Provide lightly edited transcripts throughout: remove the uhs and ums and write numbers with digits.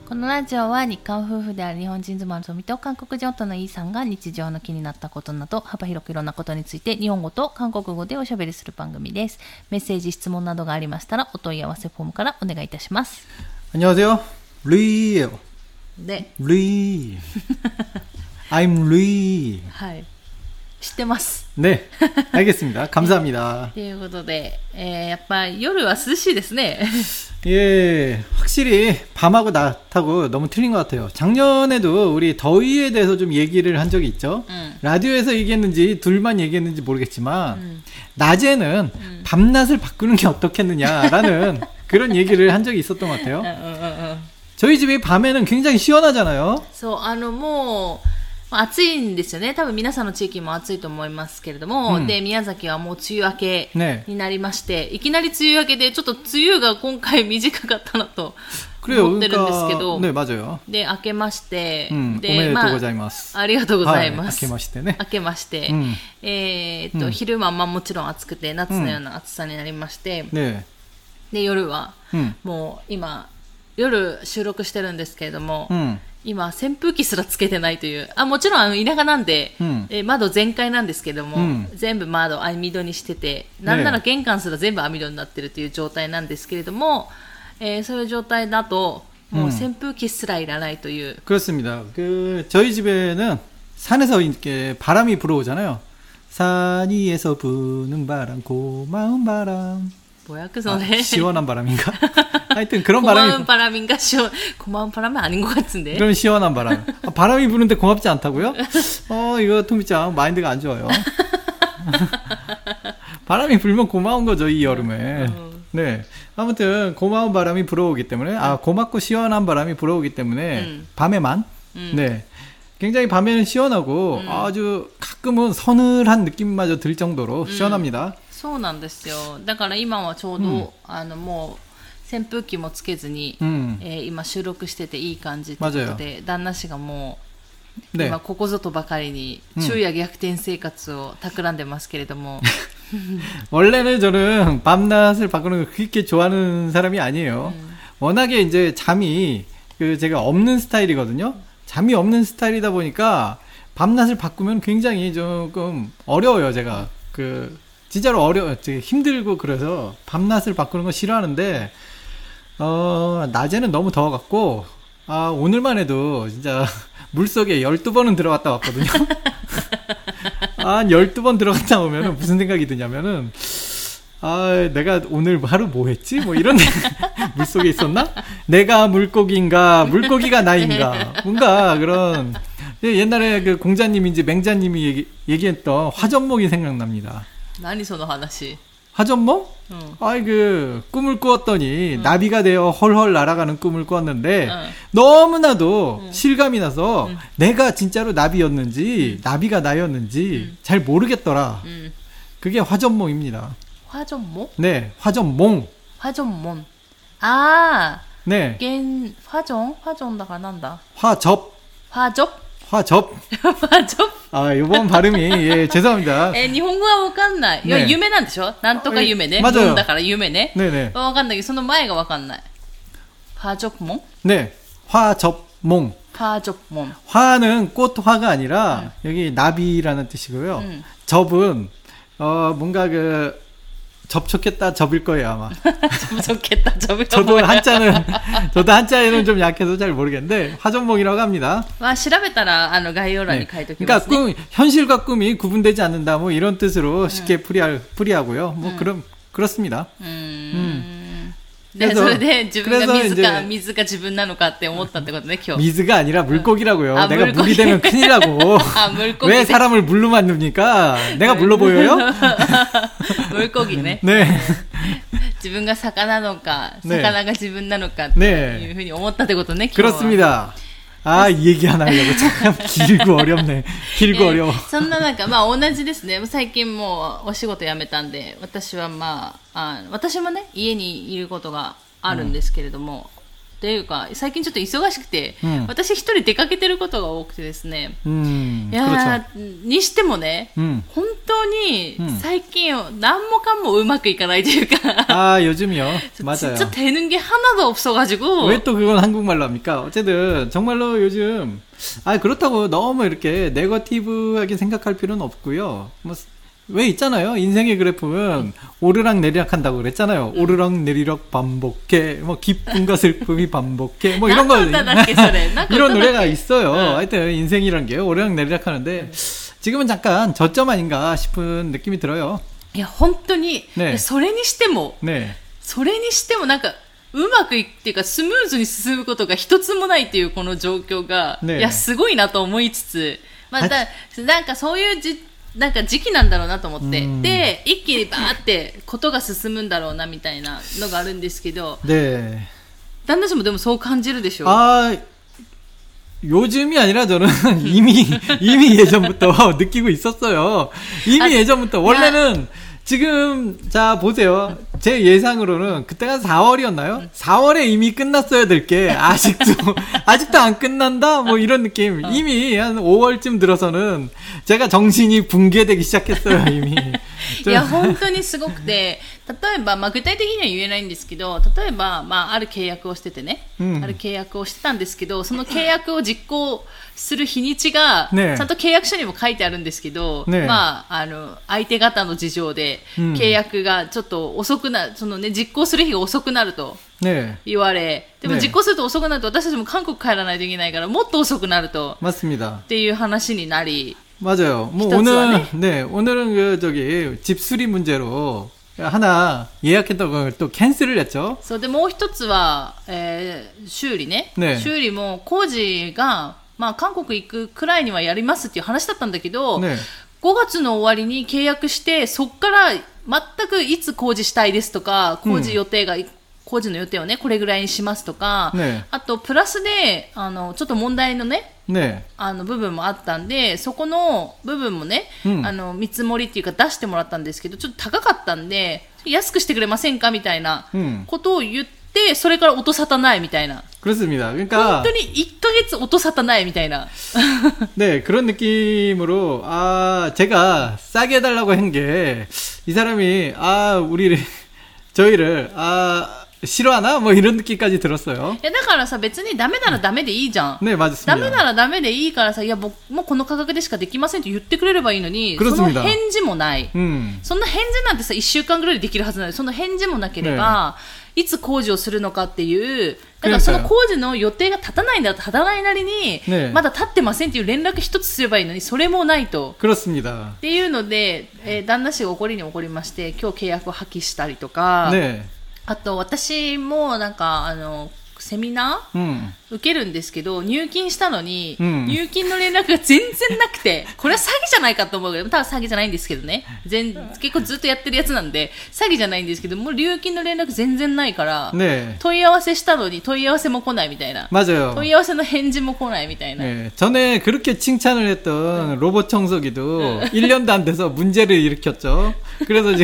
このラジオは日韓夫婦である日本人妻の富と韓国人夫のイーさんが日常の気になったことなど幅広くいろんなことについて日本語と韓国語でおしゃべりする番組です。メッセージ質問などがありましたらお問い合わせフォームからお願いいたします。 안녕하세요. 루이예요. 네. 루이. I'm 루이. はい。知ってます。 네. 알겠습니다. 감사합니다. ということで、やっぱ夜は涼しいですね。 예, 확실히 밤하고 낮하고 너무 틀린 것 같아요. 작년에도 우리 더위에 대해서 좀 얘기를 한 적이 있죠. 라디오에서 얘기했는지 둘만 얘기했는지 모르겠지만 낮에는 밤낮을 바꾸는 게 어떻겠느냐라는 그런 얘기를 한 적이 있었던 것 같아요. 저희 집이 밤에는 굉장히 시원하잖아요. そう、もう暑いんですよね。多分皆さんの地域も暑いと思いますけれども、で宮崎はもう梅雨明けになりまして、いきなり梅雨明けでちょっと梅雨が今回短かったなと思ってるんですけど、 ね、맞아요。 で明けまして、 でおめでとうございます。 ありがとうございます。 明けましてね。 明けまして、昼間もちろん暑くて夏のような暑さになりまして、で夜は、もう今夜収録してるんですけれども。今扇風機すらつけてないという。もちろん田舎なんで、窓全開なんですけども、全部窓網戸にしてて、なんなら玄関すら全部網戸になってるという状態なんですけれども、そういう状態だともう扇風機すらいらないという。 그렇습니다. 저희 집에는 산에서 이렇게 바람이 불어오잖아요. 산 위에서 부는 바람, 고마운 바람. 뭐야 그 노래? 시원한 바람인가? 하여튼 그런 바람이. 고마운 바람인가? 고마운 바람은 아닌 것 같은데. 그런 시원한 바람. 바람이 부는데 고맙지 않다고요? 이거 토미짱 마인드가 안 좋아요. 바람이 불면 고마운 거죠, 이 여름에. 네. 아무튼 고마운 바람이 불어오기 때문에, 고맙고 시원한 바람이 불어오기 때문에 밤에만. 네. 굉장히 밤에는 시원하고 아주 가끔은 서늘한 느낌마저 들 정도로 시원합니다. そうなんですよ。だから今はちょうど、もう扇風機もつけずに、今収録してていい感じということで、旦那氏がもう、今ここぞとばかりに昼夜逆転生活を企んでますけれども。 원래는 저는 밤낮을 바꾸는 걸 그렇게 좋아하는 사람이 아니에요. 워낙에 이제 잠이 제가 없는 스타일이거든요. 잠이 없는 스타일이다 보니까 밤낮을 바꾸면 굉장히 조금 어려워요. 제가 진짜로 힘들고 그래서 밤낮을 바꾸는 거 싫어하는데, 낮에는 너무 더워갖고, 오늘만 해도 진짜 물속에 12번은 들어갔다 왔거든요. 한 12번 들어갔다 오면은 무슨 생각이 드냐면은, 내가 오늘 하루 뭐 했지? 뭐 이런, 물속에 있었나? 내가 물고기인가? 물고기가 나인가? 뭔가 그런, 옛날에 그 공자님인지 맹자님이 얘기했던 화전목이 생각납니다. 何その話? 화전목? 꿈을 꾸었더니 나비가 되어 헐헐 날아가는 꿈을 꾸었는데 너무나도 실감이 나서 내가 진짜로 나비였는지 나비가 나였는지 잘 모르겠더라. 그게 화전목입니다. 화전목? 네, 화전몽. 화전몽. 네. 화전다가 난다. 화접. 화접? 화접. 화접? 이번 발음이, 예, 죄송합니다. 日本語はわかんない。いや、夢なんでしょ？なんとか夢ね。 맞아요. だから夢ね。 네네. わかんないけど、その前がわかんない。화접몽? 네. 화접몽. 화접몽. 화는 꽃화가 아니라, 여기 나비라는 뜻이고요. 접은, 뭔가 접촉했다 접일 거예요, 아마. 접촉했다 접일 거예요. 저도 한자에는 좀 약해서 잘 모르겠는데, 화전몽이라고 합니다. 調べたら、概要欄に書いておきま 그러니까 すね。 현실과 꿈이 구분되지 않는다, 뭐 이런 뜻으로 쉽게 풀이하고요. 뭐 그렇습니다. で、それで自分が水が自分なのかって思ったってことね、今日。 미즈가 아니라 물고기라고요. 내가 물이 되면 큰일이라고. 물고기. 왜 사람을 물로 만듭니까? 내가 물로 보여요? 물고기ね。 네. 自分が魚なのか、魚が自分なのかっていうふうに思ったってことね、今日は。 그렇습니다. 이 얘기 하나 하려고 참 길고 어렵네. 길고 어려워. そんな中、同じですね。最近もうお仕事辞めたんで、私は私もね、家にいることがあるんですけれども、 ていうか最近ちょっと忙しくて、私一人出かけてることが多くてですね、いやにしてもね、本当に最近何もかもうまくいかないというか 요즘이요。맞아요。 진짜 되는 게 하나도 없어가지고. 왜 또 그건 한국말로 합니까? 어쨌든 정말로 요즘 그렇다고 너무 이렇게 네거티브하게 생각할 필요는 없고요. 뭐 왜 있잖아요. 인생의 그래프는 오르락 내리락 한다고 그랬잖아요. 오르락 내리락 반복해. 뭐 기쁨과 슬픔이 반복해. 뭐 이런 거 이런 노래가 있어요. 하여튼 인생이란 게 오르락 내리락 하는데 지금은 잠깐 저점 아닌가 싶은 느낌이 들어요. 야, 本当に 네. それにしても 네. それにしてもなんかうまくいくっていうかスムーズに進むことが一つもないっていうこの状況が、いやすごいなと思いつつ、まあなんかそういうなんか時期なんだろうなと思って、で一気にバーってことが進むんだろうなみたいなのがあるんですけど、 네. 旦那氏もでもそう感じるでしょう。 요즘이 아니라 저는 이미 예전부터 느끼고 있었어요. 이미 예전부터 원래는 지금 자 보세요. 제 예상으로는 그때가 4월이었나요? 4월에 이미 끝났어야 될 게 아직도 안 끝난다? 뭐 이런 느낌. 이미 한 5월쯤 들어서는 제가 정신이 붕괴되기 시작했어요, 이미. いや本当にすごくて、例えば、具体的には言えないんですけど、例えば、ある契約をしててね、ある契約をしてたんですけど、その契約を実行する日にちが、ちゃんと契約書にも書いてあるんですけど、相手方の事情で、契約がちょっと遅くなる、実行する日が遅くなると言われ、でも実行すると遅くなると、私たちも韓国帰らないといけないから、もっと遅くなると、っていう話になり、 맞아요. 뭐 오늘은 집 수리 문제로 하나 예약했던 걸 또 캔슬을 했죠. そうでもう一つは、修理ね。修理も工事が韓国行くくらいにはやりますっていう話だったんだけど、5月の終わりに契約してそっから全くいつ工事したいですとか、工事の予定をねこれぐらいにしますとか、あとプラスでちょっと問題のね。部分もあったんで、そこの部分もね、見積もりっていうか出してもらったんですけど、ちょっと高かったんで、安くしてくれませんかみたいなことを言って、それから音沙汰ないみたいな。 그렇습니다. 그러니까 本当に1ヶ月音沙汰ないみたいな。 네, 그런 느낌으로 제가 싸게 해달라고 한 게 이 사람이 저희를 싫어하나? 뭐 이런 느낌까지 들었어요. だからさ別にダメならダメでいいじゃん。 ね、맞습니다. ダメならダメでいいからさ、いやもうこの価格でしかできませんと言ってくれればいいのに、その返事もない。そんな返事なんてさ1週間ぐらいでできるはずなのに、その返事もなければ、いつ工事をするのかっていう、だからその工事の予定が立たないんだったら立たないなりに、まだ立ってませんっていう連絡一つすればいいのに、それもないと。 그렇습니다. っていうので、旦那氏が怒りに怒りまして、今日契約を破棄したりとか。あと私もなんかセミナー、受けるんですけど、入金したのに、入金の連絡が全然なくて、これは詐欺じゃないかと思うけど、多分詐欺じゃないんですけどね。結構ずっとやってるやつなんで、詐欺じゃないんですけど、もう入金の連絡全然ないから、問い合わせしたのに問い合わせも来ないみたいな。 맞아요. 問い合わせの返事も来ないみたいな。 전에 그렇게 칭찬을 했던 로봇 청소기도 1년도 안 돼서 문제를 일으켰죠. 그래서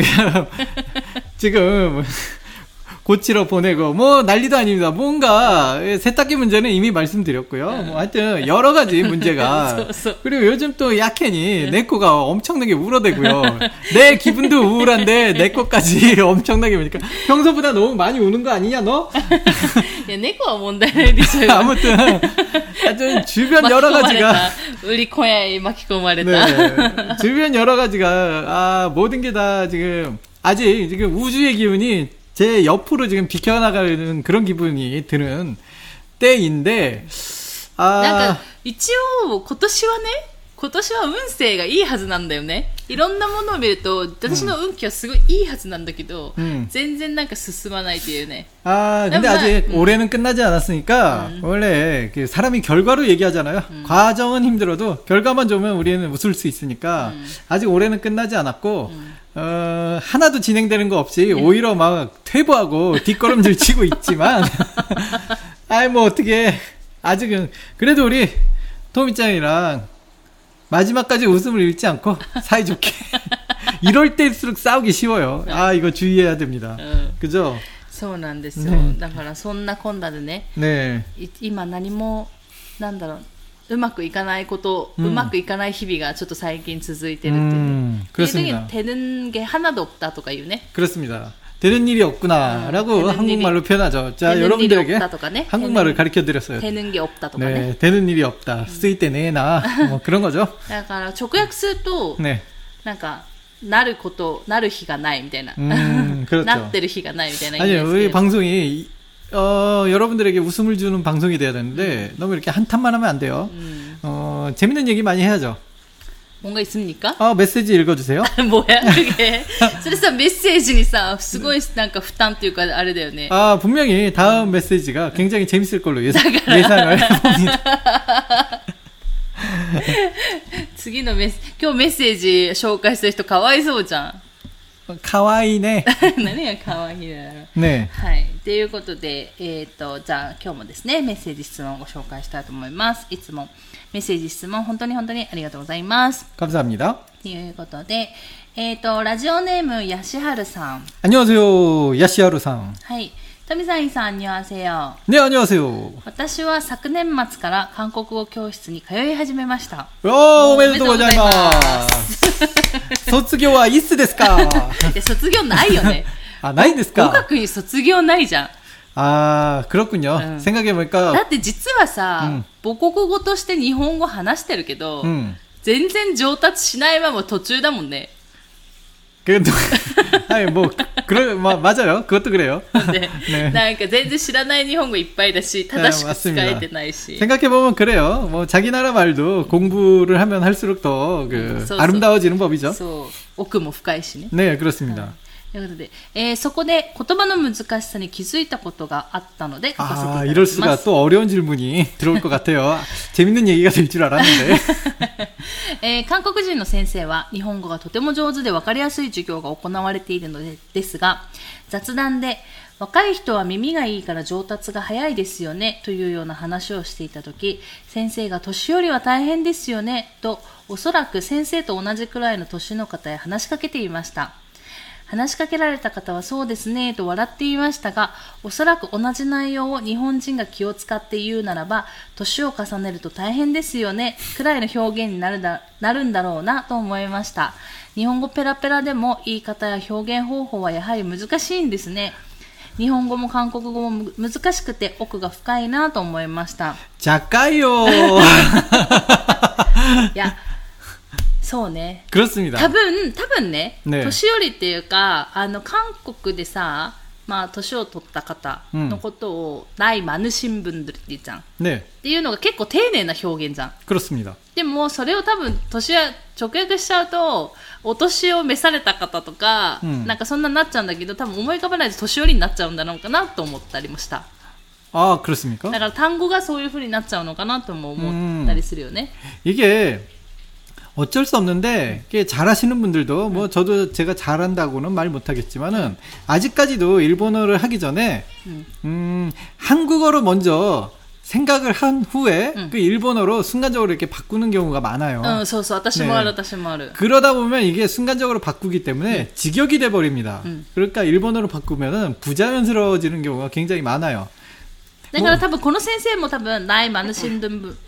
지금 고치러 보내고 뭐 난리도 아닙니다. 뭔가 세탁기 문제는 이미 말씀드렸고요. 뭐 하여튼 여러 가지 문제가 그리고 요즘 또 야켄이 내 거가 엄청나게 울어대고요. 내 기분도 우울한데 내 거까지 엄청나게 우니까 평소보다 너무 많이 우는 거 아니냐 너? 야, 내 거가 뭔데? 아무튼 하여튼 주변 여러 가지가 우리 코야에 마키코마레다. 주변 여러 가지가 모든 게 다 지금 아직 지금 우주의 기운이 제 옆으로 지금 비켜나가는 그런 기분이 드는 때인데, なんか一応今年は運勢がいいはずなんだよね。いろんなものを見ると私の運気はすごいいいはずなんだけど、全然なんか進まないっていうね。 근데 아직 올해는 끝나지 않았으니까 원래 사람이 결과로 얘기하잖아요. 과정은 힘들어도 결과만 좋으면 우리는 웃을 수 있으니까 아직 올해는 끝나지 않았고 하나도 진행되는 거 없이 오히려 막 퇴보하고 뒷걸음질 치고 있지만 뭐 어떻게 아직은 그래도 우리 토미짱이랑 마지막까지 웃음을 잃지 않고 사이좋게 이럴 때일수록 싸우기 쉬워요. 이거 주의해야 됩니다. 그죠? そうなんですよ、ね、だからそんなこんなでね、今何もなんだろう、うまくいかないこと、うまくいかない日々がちょっと最近続いてるってね。되는 게 하나도 없다とか言うね。 그렇습니다. 되는 일이 없구나라고 한국말로 표현하죠. 자, 여러분들에게 한국말을 가르쳐드렸어요. 되는 게 없다とかね。 네, 되는 일이 없다. ついてねえな. 뭐 그런 거죠. だから直訳すると、なんかなること、なる日がないみたいな。 그렇죠. なってる日がないみたいな。 아니요, 우리 방송이 여러분들에게 웃음을 주는 방송이 돼야 되는데 너무 이렇게 한탄만 하면 안 돼요. 재밌는 얘기 많이 해야죠. 뭔가 있습니까? 메시지 읽어주세요. 뭐야 그게? それさメッセージにさすごいなんか負担っていうかあれだよね. 분명히 다음 메시지가 굉장히 재밌을 걸로 예상을 해봅니다. 次の今日メッセージ紹介する人かわいそうじゃん。 かわいいね。 何がかわいいだろう。 ね。 はい。ということで、じゃあ今日もですね、メッセージ質問をご紹介したいと思います。いつもメッセージ質問本当にありがとうございます。 감사합니다。 ということで、ラジオネームヤシハルさん。 안녕하세요、ヤシハルさん。 はい。富さんさん、안녕하세요。 ね、안녕하세요。 私は昨年末から韓国語教室に通い始めました。 おめでとうございます。卒業はいつですか？ 卒業ないよね。 ないんですか？ 語学に卒業ないじゃん。 그렇군요. 생각해보니까. だって実はさ、母国語として日本語話してるけど、全然上達しないまま途中だもんね。 はい뭐 맞아요. 그것도 그래요. 네. なんか全然知らない日本語いっぱいだし、正しく使えてないし. 생각해보면 그래요. 뭐 자기 나라 말도 공부를 하면 할수록 더 아름다워지는 법이죠. そう、奥も深いしね. 네, 그렇습니다. ということで、そこで言葉の難しさに気づいたことがあったので書かせていただきます。 이럴 수가 또 어려운 질문이 들어올 것 같아요. 재밌는 얘기가 될 줄 알았는데. 韓国人の先生は日本語がとても上手で分かりやすい授業が行われているのですが、雑談で若い人は耳がいいから上達が早いですよねというような話をしていたとき、先生が年寄りは大変ですよねと、おそらく先生と同じくらいの年の方へ話しかけていました。話しかけられた方はそうですねと笑っていましたが、おそらく同じ内容を日本人が気を使って言うならば、年を重ねると大変ですよねくらいの表現になるんだろうなと思いました。日本語ペラペラでも言い方や表現方法はやはり難しいんですね。日本語も韓国語も難しくて奥が深いなと思いました。 작가요。 いや、そうね。 그렇습니다。 多分ね、年寄りっていうか、韓国でさ、まあ、年を取った方のことを、나이 많으신 분들って言うじゃん。っていうのが結構丁寧な表現じゃん。 그렇습니다。 でも、それを多分、直訳しちゃうと、お年を召された方とか、なんかそんなになっちゃうんだけど、多分思い浮かばないと年寄りになっちゃうんだろうかなと思ったりもした。 그렇습니까？ だから単語がそういう風になっちゃうのかなとも思ったりするよね。 이게 어쩔 수 없는데 잘하시는 분들도 뭐 저도 제가 잘한다고는 말 못하겠지만은 아직까지도 일본어를 하기 전에 한국어로 먼저 생각을 한 후에 그 일본어로 순간적으로 이렇게 바꾸는 경우가 많아요. そうそう、私もある。 그러다 보면 이게 순간적으로 바꾸기 때문에 직역이 돼 버립니다. 그러니까 일본어로 바꾸면은 부자연스러워지는 경우가 굉장히 많아요. だから多分この先生も多分나이 많으신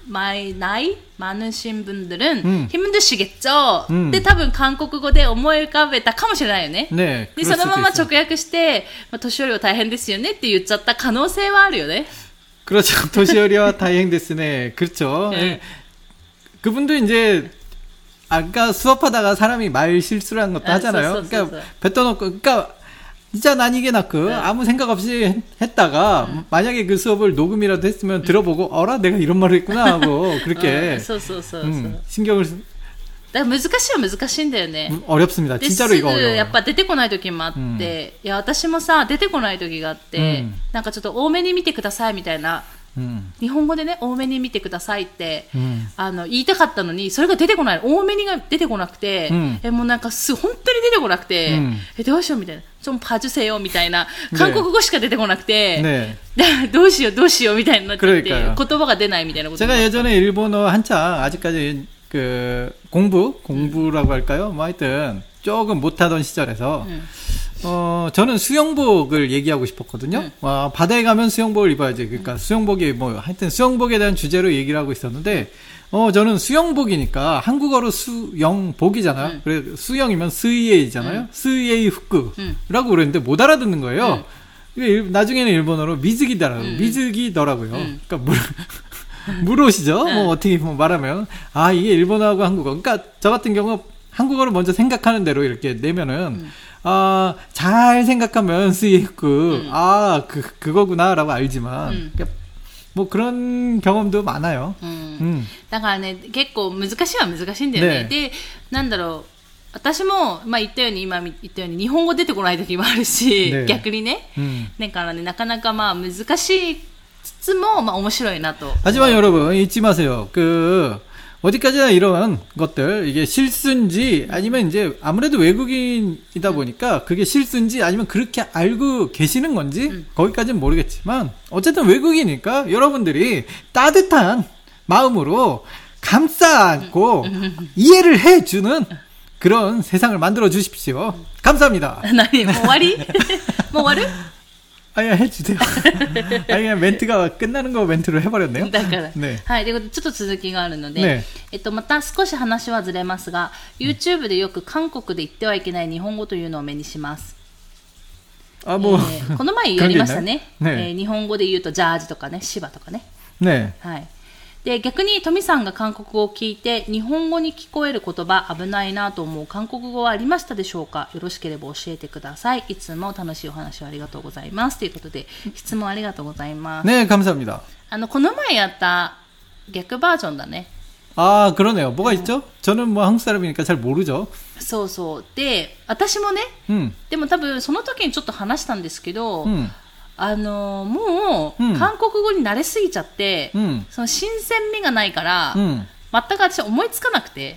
분들은 힘드시겠죠. 근데多分韓国語で思い浮かべたかもしれないよね。 でそのまま直訳して、年寄りは大変ですよねって言っちゃった可能性はあるよね。 그렇죠. 도시어리와 다행됐으네. 그렇죠. 그분도 이제 아까 수업하다가 사람이 말 실수를 한 것도 하잖아요. 그러니까 뱉어놓고, 그러니까 진짜 난 이게 낫고 아무 생각 없이 했다가 만약에 그 수업을 녹음이라도 했으면 들어보고 어라 내가 이런 말을 했구나 하고 그렇게 신경을 だから難しいは難しいんだよね。 어렵습니다. 진짜로 이거 어려워요. やっぱ出てこない時もあって、いや私もさ出てこない時があって、なんかちょっと多めに見てくださいみたいな、日本語でね多めに見てくださいって、言いたかったのにそれが出てこない、多めにが出てこなくて、もうなんか本当に出てこなくて、どうしようみたいな、좀 봐주세요みたいな韓国語しか出てこなくて、どうしようみたいになっちゃって、言葉が出ないみたいなこと。 제가 예전에 일본어 한창 아직까지 그 공부라고 할까요? 뭐 하여튼 조금 못하던 시절에서 저는 수영복을 얘기하고 싶었거든요. 바다에 가면 수영복을 입어야지. 그러니까 수영복이 뭐 하여튼 수영복에 대한 주제로 얘기를 하고 있었는데 저는 수영복이니까 한국어로 수영복이잖아요. 그래 수영이면 스이에이잖아요. 스이에이 후크라고 그랬는데 못 알아듣는 거예요. 나중에는 일본어로 미즈기더라고요. 그러니까 물옷이죠. 뭐 어떻게 말하면 이게 일본어하고 한국어. 그러니까 저 같은 경우 한국어를 먼저 생각하는 대로 이렇게 내면은 잘 생각하면 스이에이후크 그거구나라고 알지만. 그러니까 뭐 그런 경험도 많아요. だからね、結構難しいは難しいんだよね。で、なんだろう、私も、今言ったように日本語出てこない時もあるし、逆にね。だからね、なかなか難しいつつも、面白いなと。 하지만 여러분, 잊지 마세요. 어디까지나 이런 것들, 이게 실수인지, 아니면 이제, 아무래도 외국인이다 보니까, 그게 실수인지, 아니면 그렇게 알고 계시는 건지, 거기까지는 모르겠지만, 어쨌든 외국이니까, 여러분들이 따뜻한 마음으로 감싸 안고, 이해를 해주는 그런 세상을 만들어 주십시오. 감사합니다. 何? もう終わり? もう終わる? 해주세요. 그냥 멘트가 끝나는 거 멘트로 해버렸네요. だから。 ね。 はい。ということで、ちょっと続きがあるので、また少し話はずれますが、YouTube でよく韓国で言ってはいけない日本語というのを目にします。 もう、 この前やりましたね。日本語で言うと、ジャージとかね、芝とかね。 ね。 はい。で、逆にトミさんが韓国語を聞いて日本語に聞こえる言葉危ないなと思う韓国語はありましたでしょうか。よろしければ教えてください。いつも楽しいお話をありがとうございますということで質問ありがとうございます。 ね、감사합니다。 この前やった逆バージョンだね。 그러네요。뭐가 있죠? 저는 뭐 한국 사람이니까 잘 모르죠。 そうそう。で、私もね、でも多分その時にちょっと話したんですけど、もう、韓国語に慣れすぎちゃって、その新鮮味がないから、全く私思いつかなくて。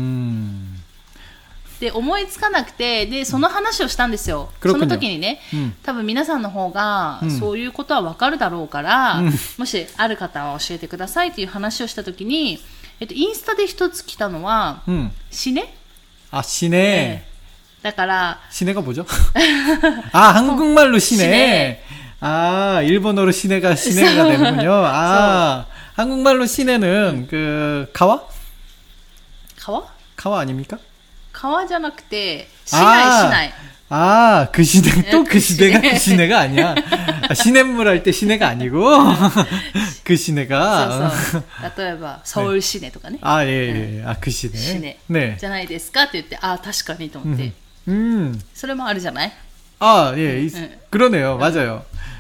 で、思いつかなくて、で、その話をしたんですよ。その時にね、多分皆さんの方が、そういうことはわかるだろうから、もしある方は教えてくださいっていう話をした時に、インスタで一つ来たのは、死ね。 死ね。 だから、 死ね가 뭐죠? 한국말로 시내. 일본어로 시내가 되는군요. 한국말로 시내는 가와? 가와 아닙니까? 가와 じゃなくて 시내. 그 시내, 또 그 시내가 그 시내가 아니야. 시냇물 할 때 시내가 아니고, 그 시내가. 例えば、서울 시내とかね。 예. 그 시내. 시내. 네. じゃないですかって言って、確かにと思って。それもあるじゃない? 예. 그러네요. 맞아요.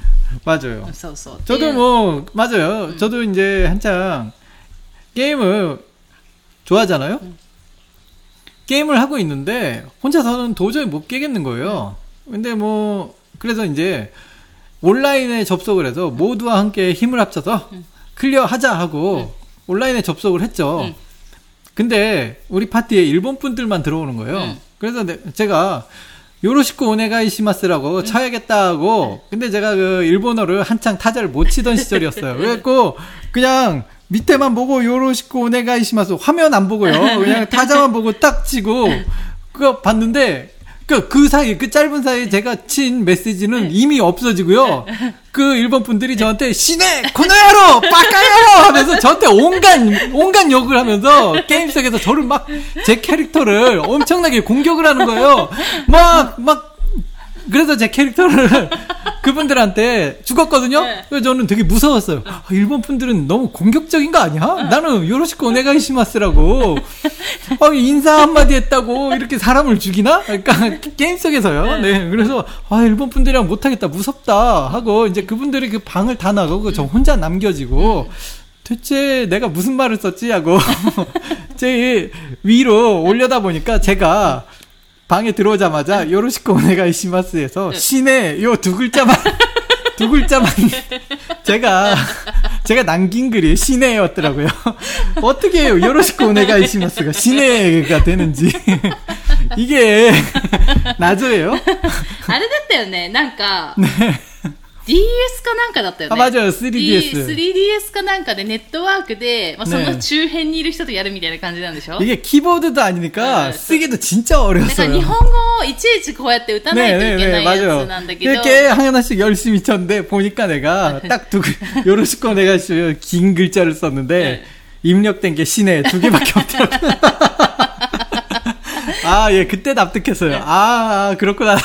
저도 뭐, 맞아요. 저도 이제 한창 게임을 좋아하잖아요? 게임을 하고 있는데, 혼자서는 도저히 못 깨겠는 거예요. 근데 뭐, 그래서 이제 온라인에 접속을 해서 모두와 함께 힘을 합쳐서 클리어하자 하고 온라인에 접속을 했죠. 근데 우리 파티에 일본 분들만 들어오는 거예요. 그래서 제가 요로시코 오네가이시마스라고 쳐야겠다 하고, 근데 제가 그 일본어를 한창 타자를 못 치던 시절이었어요. 그래갖고 그냥 밑에만 보고 요로시코 오네가이시마스 화면 안 보고요. 그냥 타자만 보고 딱 치고 그거 봤는데 그 사이, 그 짧은 사이에 제가 친 메시지는 이미 없어지고요. 그 일본 분들이 저한테 시네 코노야로 빠까야로 하면서 저한테 온갖 욕을 하면서 게임 속에서 저를 막 제 캐릭터를 엄청나게 공격을 하는 거예요. 그래서 제 캐릭터를 그분들한테 죽었거든요. 그래서 저는 되게 무서웠어요. 일본 분들은 너무 공격적인 거 아니야? 나는 요로시코 오네가이시마스라고 인사 한마디 했다고 이렇게 사람을 죽이나? 그러니까 게임 속에서요. 네, 그래서 일본 분들이랑 못하겠다, 무섭다 하고 이제 그분들이 그 방을 다 나가고 저 혼자 남겨지고 대체 내가 무슨 말을 썼지 하고 제 위로 올려다 보니까 제가 방에 들어오자마자 요로시코 오네가이시마스에서 시내 요 두 글자만 제가 남긴 글이 시내였더라고요. 어떻게 해요? 요로시코 오네가이시마스가 시내가 되는지. 이게 나조예요? あれだったよね。なんか DS かなんかだったよね。 맞아요. 3DS. 3DS かなんかでネットワークで、その周辺にいる人とやるみたいな感じなんでしょ。 이게 키보드도 아니니까 쓰기도 진짜 어려웠어요. だから日本語をいちいちこうやって打たないといけないやつなんだけど。 이렇게 하나씩 열심히 쳤는데 보니까 내가 딱 요로시코 내가 긴 글자를 썼는데 입력된 게 시내 2개밖에 없더라고요. 아, 예, 그때 납득했어요. 아, 그렇구나.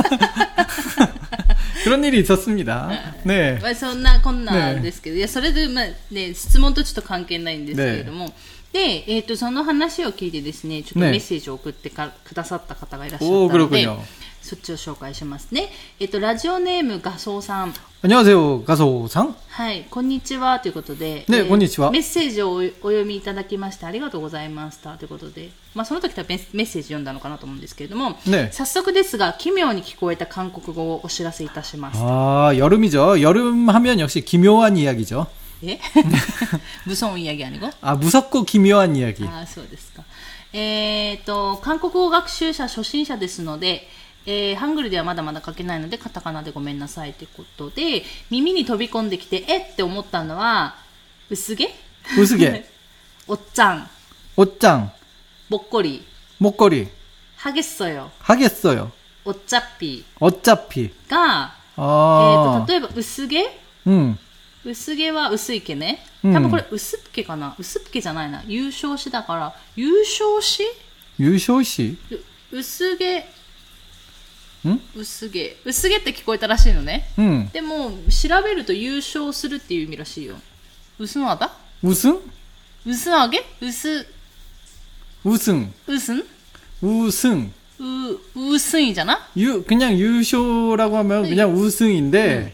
그런 일이 있었습니다. 네. そんなこんなんですけど、いやそれで質問とちょっと関係ないんですけれども、でその話を聞いてですね、ちょっとメッセージを送ってくださった方がいらっしゃったので、そっちを紹介しますね。ラジオネームガソウさん。 안녕하세요, 가소さん。 はい、こんにちはということで、 ね、こんにちは。 メッセージをお読みいただきましてありがとうございましたということで、その時はメッセージ読んだのかなと思うんですけれども、 ね、 早速ですが奇妙に聞こえた韓国語をお知らせいたします。 아, 여름이죠. 여름 하면 역시 기묘한 이야기죠. 예? 무서운 이야기 아니고? 아, 무섭고 기묘한 이야기. 아, そうですか。韓国語学習者初心者ですので、ハングルではまだまだ書けないのでカタカナでごめんなさいということで、耳に飛び込んできてって思ったのは薄毛おっちゃんぼっこり하겠어요 어차피が、例えば薄毛、薄毛は薄い毛ね。多分これ薄っ毛かな。薄っ毛じゃないな。優勝しだから優勝し薄毛薄毛って聞こえたらしいのね。でも調べると優勝するっていう意味らしいよ。우승 하다? 우승하게? 우승이잖아? 그냥 유쇼라고 하면 그냥 우승인데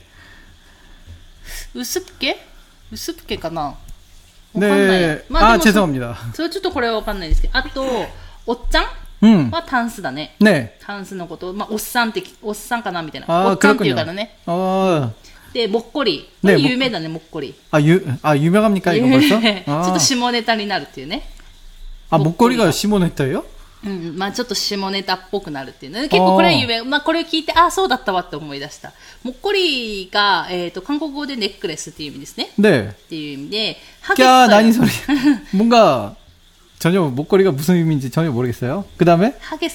우습게かな? 네. 아, 죄송합니다. それちょっとこれはわかんないですけど、あとおっちゃんはタンスだね。タンスのこと、おっさんかなみたいな。おっちゃんっていうからね。で、もっこり。有名だね、もっこり。 유명합니까 이거 벌써? ちょっと下ネタになるっていうね。 아, 목걸이가下ネタよ? ちょっと下ネタっぽくなるっていうね。結構これは有名。これを聞いて、そうだったわって思い出した。もっこりが、韓国語でネックレスっていう意味ですね。 네。 っていう意味で、 何それ。뭔가 전혀 목걸이가 무슨 의미인지 전혀 모르겠어요. 그 다음에?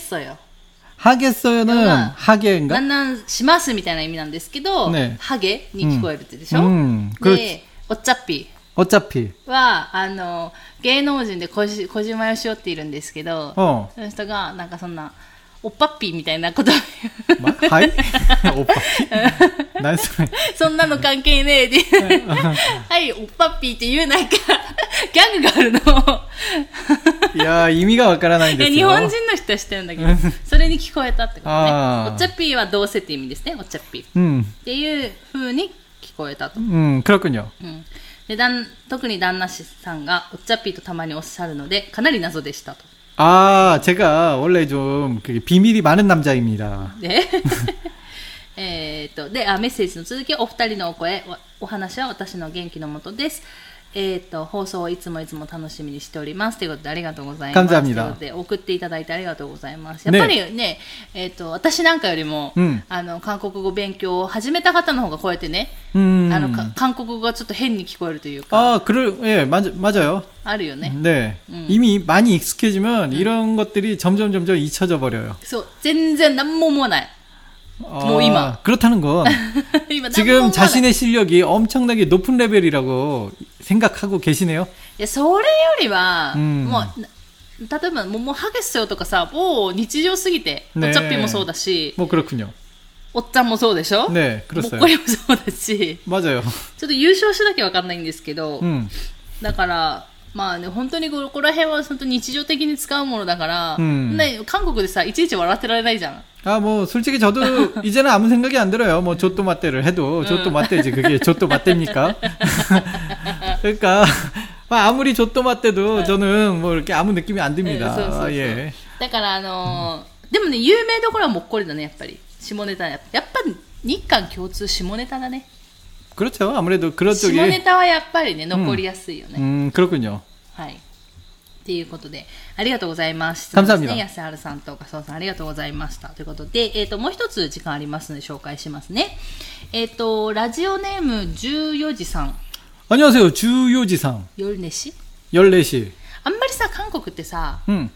하겠어요는 하게인가? なんしますみたいな意味なんですけど、ハゲに聞こえるってでしょ。で、おっちゃっぴは芸能人で小島よしおっているんですけど、その人がなんかそんなおっぱっぴーみたいなことを言う。はい？おっぱっぴー？何それ？ そんなの関係ねえではい、おっぱっぴーっていうなんかギャグがあるのいや意味がわからないんですよ。 日本人の人は知ってるんだけどそれに聞こえたってことね。おっちゃっぴーはどうせって意味ですね。おっちゃっぴー、っていう風に聞こえたと。 그렇군요。 で特に旦那さんがおっちゃっぴーとたまにおっしゃるのでかなり謎でしたと。 제가 원래 좀 비밀이 많은 남자입니다. 네. で、メッセージの続き、お二人のお声、お話は私の元気のもとです。放送をいつも楽しみにしておりますということでありがとうございます。ということで送っていただいてありがとうございます。やっぱりね、私なんかよりも、韓国語勉強を始めた方の方がこうやってね、韓国語がちょっと変に聞こえるというか。 예, 맞아요. あるよね。 네. 이미 많이 익숙해지면 이런 것들이 점점 잊혀져 버려요. そう、全然何も思わない。뭐今 그렇다는 건 지금 자신의 실력이 엄청나게 높은 레벨이라고 생각하고 계시네요. いやそれよりはもう例えばもう하겠어요とかさ、もう日常すぎて、おっちゃっぴもそうだし、 もう그렇군요。 おっちゃんもそうでしょ。 ね、 もっこりもそうだし、 맞아요。 ちょっと優勝しなきゃわかんないんですけど、だからまあね、本当にここら辺は本当に日常的に使うものだから、ね、韓国でさいちいち笑ってられないじゃん。 뭐 솔직히 저도 이제는 아무 생각이 안 들어요. 뭐 조또 맞대를 해도 조또 맞대지 그게 조또 맞대입니까? 그러니까 아무리 조또 맞대도 저는 뭐 이렇게 아무 느낌이 안 듭니다. 예. だからでもね有名どころはもっこりだねやっぱり。下ネタやっぱ日韓共通下ネタだね。 그렇죠. 아무래도 그런 쪽에 下ネタはやっぱりね残りやすいよね。 그렇군요. はい。 ということで、ありがとうございます。 感謝합니다。 安原さんとかそうさんありがとうございました。ということで、もう一つ時間ありますので紹介しますね。ラジオネーム14時さん。 안녕하세요。14時さん。 夜寝し 14시。 あんまりさ、韓国ってさ、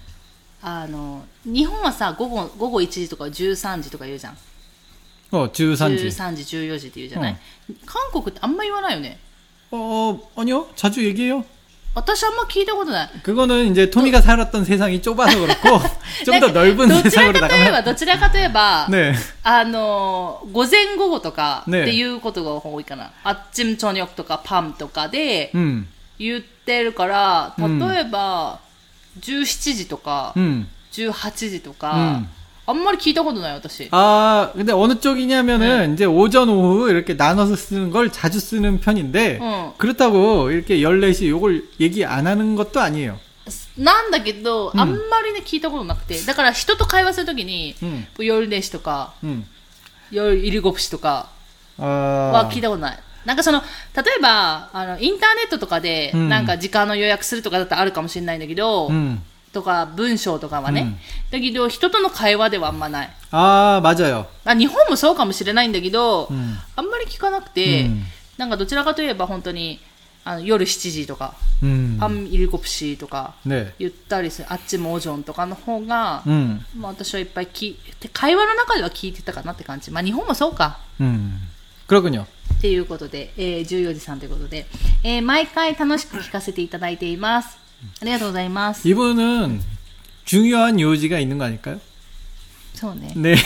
日本はさ、午後1時とか13時とか言うじゃん。 13時。 13時、14時って言うじゃない、韓国ってあんま言わないよね。 아니요. 자주 얘기해요. 私あんま聞いたことない。 그거는 이제 토미가 살았던 세상이 좁아서 그렇고 좀 더 넓은 세상으로 나가면 どちらかといえば、 네. 午前午後とかっていうことが多いかな。아침 저녁とか밤とかで言ってるから、例えば17時とか18時とか、あんまり聞いたことない私。 근데 어느 쪽이냐면은 이제 오전 오후 이렇게 나눠서 쓰는 걸 자주 쓰는 편인데 그렇다고 이렇게 14시 요걸 얘기 안 하는 것도 아니에요. なんだけど、あんまりね聞いたことなくて、だから人と会話するときに、14時とか、17時とかは聞いたことない。なんかその例えばインターネットとかでなんか時間の予約するとかだったらあるかもしれないんだけど。とか文章とかはね、だけど人との会話ではあんまない。 맞아요。 日本もそうかもしれないんだけど、あんまり聞かなくて、なんかどちらかといえば本当に夜7時とか、밤7시とか言ったりする、あっちもオジョンとかの方が、私はいっぱい会話の中では聞いてたかなって感じ。日本もそうか。 그렇군요。 っていうことで、14時さんということで、毎回楽しく聞かせていただいています。ありがとうございます。 이분은 중요한 요지가 있는 거 아닐까요? そうね。 네.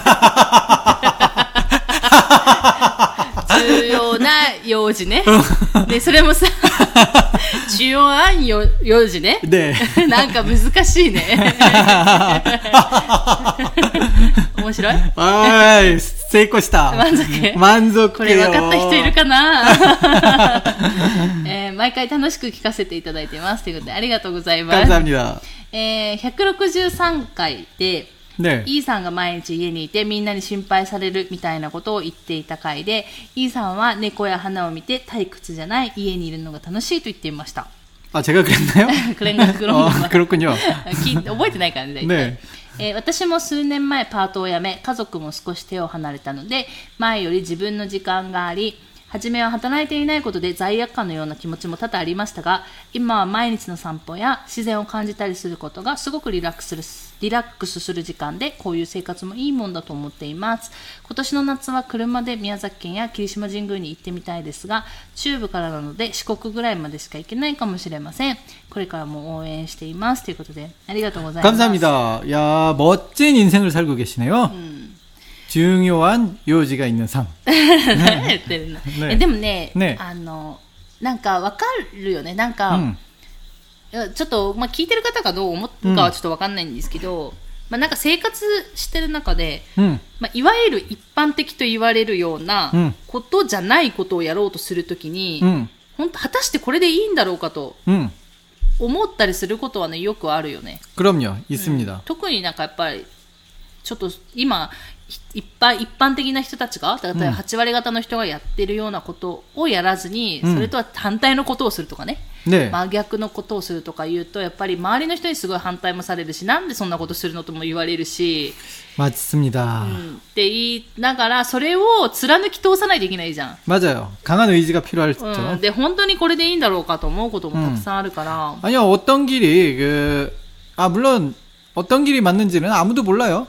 重要な用事ね。で、それもさ、重要な用事ね。 ね。 なんか難しいね。面白い？ 成功した。満足。 これ分かった人いるかな？毎回楽しく聞かせていただいてます。ということで、ありがとうございます。 감사합니다。 163回で、 ね、 イーさんが毎日家にいてみんなに心配されるみたいなことを言っていた回で、イーさんは猫や花を見て退屈じゃない家にいるのが楽しいと言っていました。 제가 그랬나요? 그렇군요. 覚えてないからね、大体。私も数年前パートを辞め、家族も少し手を離れたので、前より自分の時間があり、初めは働いていないことで罪悪感のような気持ちも多々ありましたが、今は毎日の散歩や自然を感じたりすることがすごくリラックスする時間で、こういう生活もいいもんだと思っています。今年の夏は車で宮崎県や霧島神宮に行ってみたいですが、中部からなので四国ぐらいまでしか行けないかもしれません。これからも応援していますということで、ありがとうございます。 감사합니다. 야, 멋진 인생을 살고 계시네요. 중요한 요지가 있는 삶. 何言ってるの？でもね、なんかわかるよね。なんか、ちょっと、聞いてる方がどう思うかはちょっとわかんないんですけど、なんか生活してる中で、いわゆる一般的と言われるようなことじゃないことをやろうとするときに、本当果たしてこれでいいんだろうかと思ったりすることはね、よくあるよね。 그럼요、있습니다。 特になんかやっぱりちょっと今一般的な人たちが、例えば8割方の人がやってるようなことをやらずに、それとは反対のことをするとかね、真逆のことをするとか言うと、やっぱり周りの人にすごい反対もされるし、なんでそんなことするのとも言われるし、 맞습니다。 って言いながら、それを貫き通さないといけないじゃん。 맞아요。강한 의지가 필요하죠。 で、本当にこれでいいんだろうかと思うこともたくさんあるから。 아니요、어떤 길이 물론 어떤 길이 맞는지는 아무도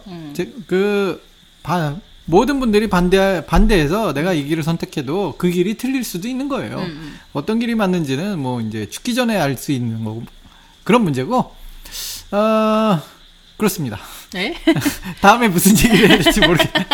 몰라요。모든 분들이 반대해서 내가 이 길을 선택해도 그 길이 틀릴 수도 있는 거예요. 어떤 길이 맞는지는 뭐 이제 죽기 전에 알 수 있는 거고, 그런 문제고, 그렇습니다. 네? 다음에 무슨 얘기를 해야 될지 모르겠네.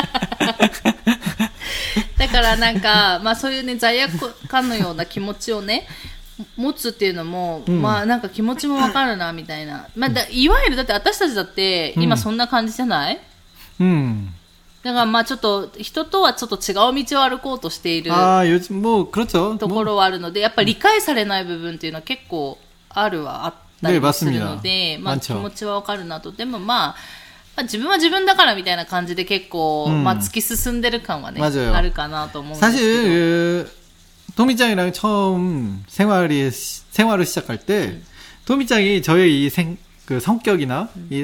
だからなんか、そういうね、罪悪感のような気持ちをね、持つっていうのも、なんか気持ちもわかるなみたいな。いわゆるだって私たちだって今そんな感じじゃない？だからちょっと人とはちょっと違う道を歩こうとしているところはあるので、やっぱり理解されない部分っていうのは結構あったりするので、気持ちはわかるなと。でも自分は自分だからみたいな感じで結構、突き進んでる感はね、あるかなと思うんですけど。 토미짱이랑 처음 생활을 시작할 때 토미짱이 저의 이 성격이나 이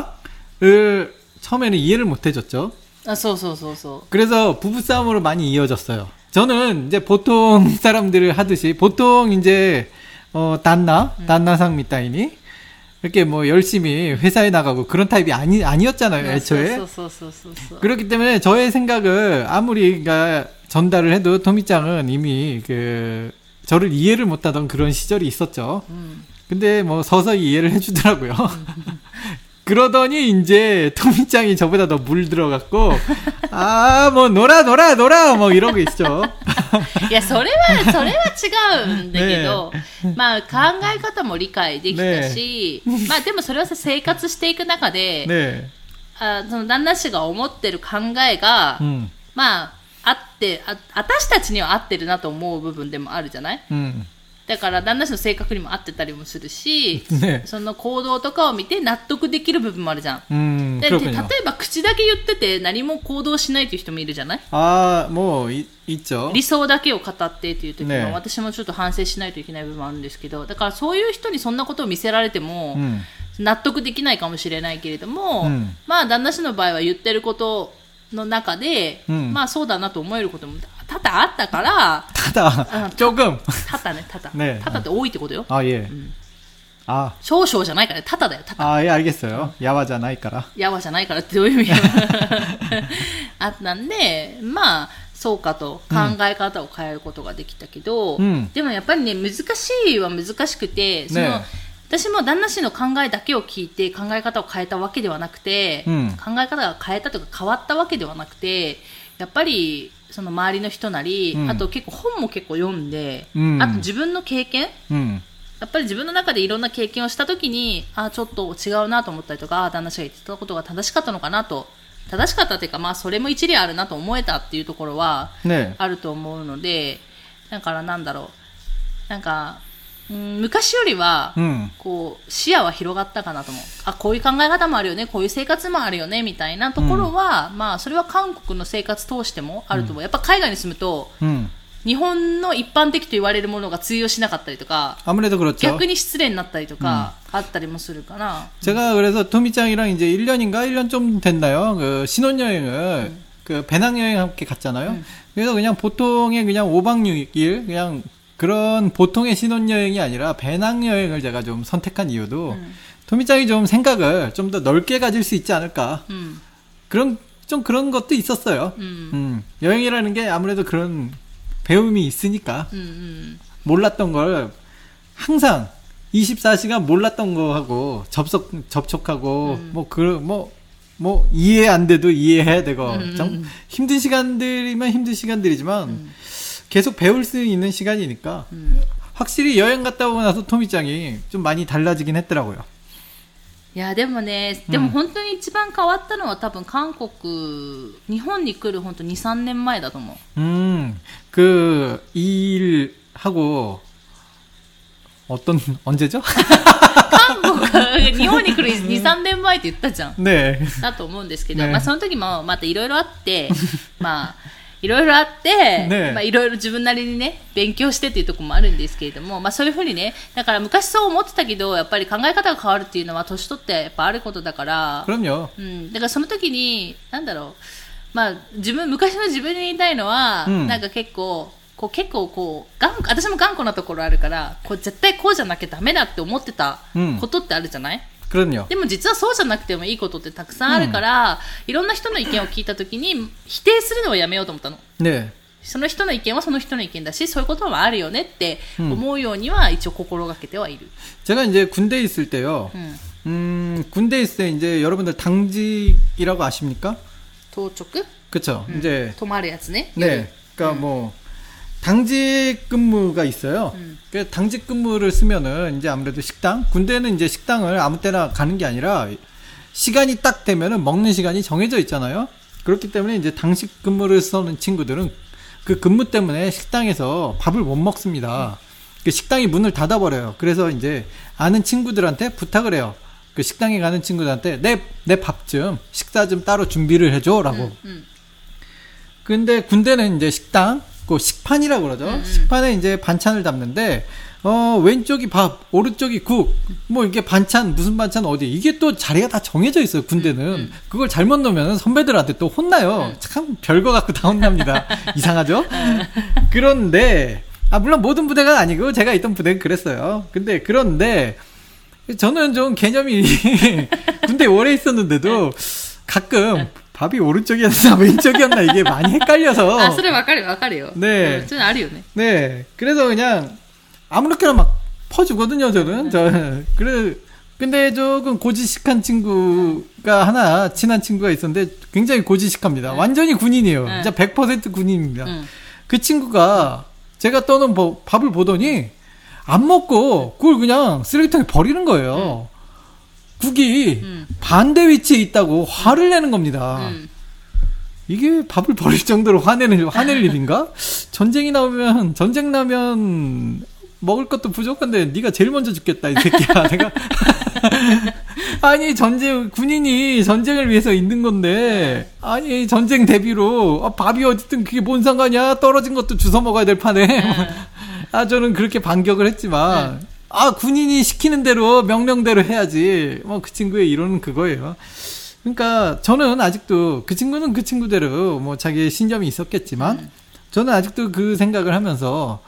생각을 처음에는 이해를 못 해줬죠. 그래서 부부싸움으로 많이 이어졌어요. 저는 이제 보통 사람들을 하듯이, 보통 이제, 단나상 미타이니, 이렇게 뭐 열심히 회사에 나가고 그런 타입이 아니었잖아요, 애초에. 그렇기 때문에 저의 생각을 아무리 전달을 해도 토미짱은 이미 저를 이해를 못하던 그런 시절이 있었죠. 근데 뭐 서서히 이해를 해주더라고요. 그러더니 이제 토미짱이 저보다 더 물들어갖고 뭐 놀아 뭐 이러고 있죠. いやそれは違うんだけど、まあ考え方も理解できたし、まあでもそれは生活していく中で、その旦那氏が思ってる考えが、まああって私たちには合ってるなと思う部分でもあるじゃない？だから旦那氏の性格にも合ってたりもするし、その行動とかを見て納得できる部分もあるじゃん。で例えば口だけ言ってて何も行動しないという人もいるじゃない？ もういっちょ理想だけを語ってっていう時も、私もちょっと反省しないといけない部分もあるんですけど、だからそういう人にそんなことを見せられても、納得できないかもしれないけれども、まあ旦那氏の場合は言ってることの中で、まあそうだなと思えることも多々あったから、 조금 多々ね、多々って多いってことよ。 예. 少々じゃないからね、多々だよ、多々。 예, 알겠어요. 야와じゃないから。 야와じゃないからってどういう意味あったんで、まあそうかと考え方を変えることができたけど、でもやっぱりね、難しいは難しくて、私も旦那氏の考えだけを聞いて考え方を変えたわけではなくて、考え方が変えたとか変わったわけではなくて、やっぱりその周りの人なり、あと結構本も結構読んで、あと自分の経験、やっぱり自分の中でいろんな経験をしたときに、ちょっと違うなと思ったりとか、旦那氏が言ってたことが正しかったのかなと、正しかったというか、まあそれも一理あるなと思えたっていうところはあると思うので、だからなんだろう、なんか、昔よりは、こう視野は広がったかなと思う。こういう考え方もあるよね、こういう生活もあるよねみたいなところは、まあそれは韓国の生活通してもあると思う。やっぱ海外に住むと、日本の一般的と言われるものが通用しなかったりとか、逆に失礼になったりとか、あったりもするかな。 제가 그래서 토미짱이랑 이제 1년인가 1년 좀 됐나요? 신혼여행을 배낭여행 함께 갔잖아요. 그래서 그냥 보통의 그냥 5박 6일 그냥 그런 보통의 신혼여행이 아니라 배낭여행을 제가 좀 선택한 이유도 토미짱이 좀 생각을 좀 더 넓게 가질 수 있지 않을까. 그런 것도 있었어요. 여행이라는 게 아무래도 그런 배움이 있으니까 몰랐던 걸 항상 24시간 몰랐던 거 하고 접촉하고 뭐 이해 안 돼도 이해해야 되고 좀 힘든 시간들이면 힘든 시간들이지만 계속 배울 수 있는 시간이니까 확실히 여행 갔다 오고 나서 토미짱이 좀 많이 달라지긴 했더라고요. いやでもね、でも本当に一番変わったのは多分韓国、日本に来る本当 2,3 年前だと思う。 그 일하고 언제죠? 日本に来る 2,3 年前って言ったじゃん。 ね。 だと思うんですけど、まあその時もまたいろいろあって、まあいろいろあって、まあいろいろ自分なりにね、勉強してっていうところもあるんですけれども、まあそういうふうにね、だから昔そう思ってたけど、やっぱり考え方が変わるっていうのは年取ってやっぱあることだから、 그럼요。 だからその時に、なんだろう、まあ昔の自分に言いたいのは、なんか結構私も頑固なところあるから、絶対こうじゃなきゃダメだって思ってたことってあるじゃない？でも実はそうじゃなくてもいいことってたくさんあるから、いろんな人の意見を聞いたときに否定するのはやめようと思ったの。 ね。 その人の意見はその人の意見だし、そういうこともあるよねって思うようには一応心がけてはいる。 제가 이제 군대에 있을 때요. 군대에 있을 때 이제 여러분들 당직이라고 아십니까? 도촉? 그렇죠. 이제 泊まるやつね. 네. 그러니까 뭐 당직 근무가 있어요. 그 당직 근무를 쓰면은 이제 아무래도 식당, 군대는 이제 식당을 아무 때나 가는 게 아니라 시간이 딱 되면은 먹는 시간이 정해져 있잖아요. 그렇기 때문에 이제 당직 근무를 쓰는 친구들은 그 근무 때문에 식당에서 밥을 못 먹습니다. 그 식당이 문을 닫아버려요. 그래서 이제 아는 친구들한테 부탁을 해요. 그 식당에 가는 친구들한테 내 밥 좀, 식사 좀 따로 준비를 해줘라고. 근데 군대는 이제 식당, 그 식판이라고 그러죠. 식판에 이제 반찬을 담는데 왼쪽이 밥, 오른쪽이 국, 뭐 이게 반찬, 무슨 반찬 어디, 이게 또 자리가 다 정해져 있어요, 군대는. 그걸 잘못 놓으면 선배들한테 또 혼나요. 참 별거 갖고 다 혼납니다. 이상하죠? 그런데, 물론 모든 부대가 아니고, 제가 있던 부대는 그랬어요. 그런데, 저는 좀 개념이, 군대에 오래 있었는데도, 가끔, 밥이 오른쪽이었나 왼쪽이었나 이게 많이 헷갈려서. それわかるよ. 네. 좀あるよね. 네. 그래서 그냥 아무렇게나 막 퍼주거든요, 저는. 근데 조금 고지식한 친구가 하나, 친한 친구가 있었는데 굉장히 고지식합니다. 완전히 군인이에요. 진짜 100% 군인입니다. 그 친구가 제가 떠놓은 밥을 보더니 안 먹고 그걸 그냥 쓰레기통에 버리는 거예요. 국이 반대 위치에 있다고 화를 내는 겁니다. 이게 밥을 버릴 정도로 화낼 일인가? 전쟁 나면 먹을 것도 부족한데 네가 제일 먼저 죽겠다 이 새끼야. 내가 아니 군인이 전쟁을 위해서 있는 건데 아니 전쟁 대비로 밥이 어쨌든 그게 뭔 상관이야. 떨어진 것도 주워 먹어야 될 판에. 저는 그렇게 반격을 했지만 군인이 시키는 대로 명령대로 해야지. 그 친구의 이론은 그거예요. 그러니까 저는 아직도 그 친구는 그 친구대로 뭐 자기의 신념이 있었겠지만 저는 아직도 그 생각을 하면서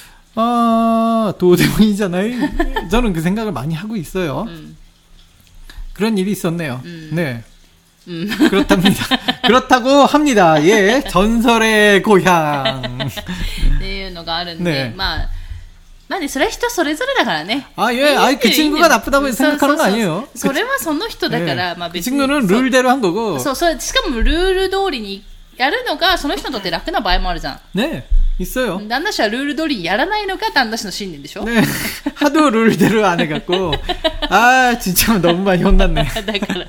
도대문이잖아요. 저는 그 생각을 많이 하고 있어요. 그런 일이 있었네요. 네. 그렇답니다. 그렇다고 합니다. 예, 전설의 고향. っていうのがあるんで、まあね、それは人それぞれだからね。 예, 그 친구가 나쁘다고 생각하는 거 아니에요. それはその人だから、まあ別に。 그 친구는 룰대로 한 거고. しかもルール通りにやるのがその人にとって楽な場合もあるじゃん。 네, 있어요. 旦那氏はルール通りにやらないのが旦那氏の信念でしょ。 네, 하도 룰대로 안 해갖고 진짜 너무 많이 혼났네. だから、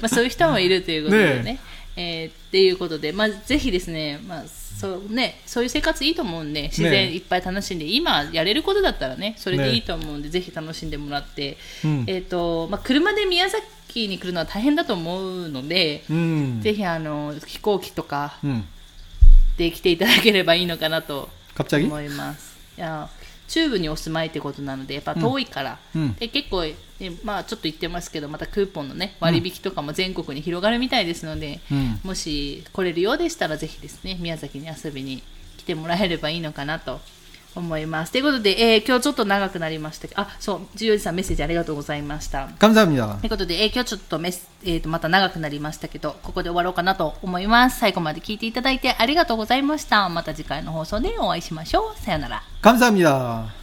そういう人もいるということでね。っていうことで、ぜひですね、そういう生活いいと思うんで、自然いっぱい楽しんで、今やれることだったらね、それでいいと思うんで、ぜひ楽しんでもらって、車で宮崎に来るのは大変だと思うので、ぜひ飛行機とかで来ていただければいいのかなと思います。中部にお住まいってことなのでやっぱ遠いから、で結構、ちょっと言ってますけどまたクーポンのね割引とかも全国に広がるみたいですので、もし来れるようでしたらぜひですね宮崎に遊びに来てもらえればいいのかなと思います。ということで、今日ちょっと長くなりましたけど、そう14時さんメッセージありがとうございました。 감사합니다。 ということで、今日ちょっとまた長くなりましたけどここで終わろうかなと思います。最後まで聞いていただいてありがとうございました。また次回の放送でお会いしましょう。さよなら。 감사합니다。